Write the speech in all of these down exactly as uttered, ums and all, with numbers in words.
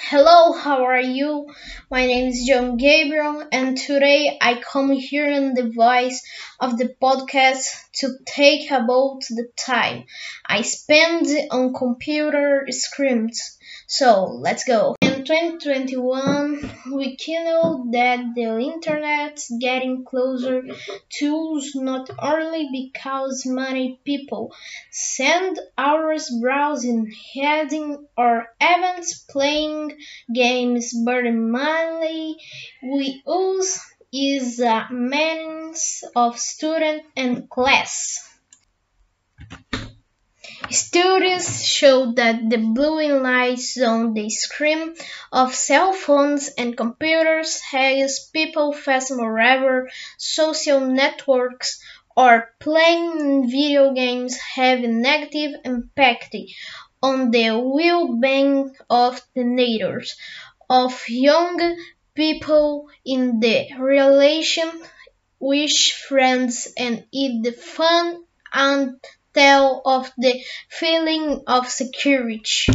Hello, how are you? My name is John Gabriel, and today I come here in the voice of the podcast to take about the time I spend on computer screens. So let's go. In twenty twenty-one, we can know that the internet's getting closer to us not only because many people spend hours browsing, heading, or even playing games, but mainly we use is a means of student and class. Studies show that the blue lights on the screen of cell phones and computers has people facing wherever social networks or playing video games have a negative impact on the well-being of teenagers, of young people in the relation with friends, and in the fun and tell of the feeling of security.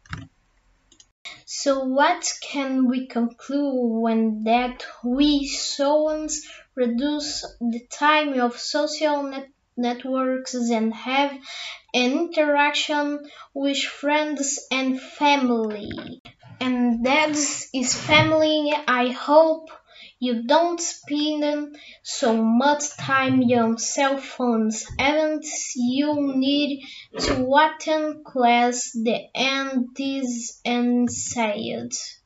So what can we conclude when that we humans reduce the time of social net networks and have an interaction with friends and family? And that is family. I hope you don't spend so much time on cell phones and you need to attend class. The end is inside.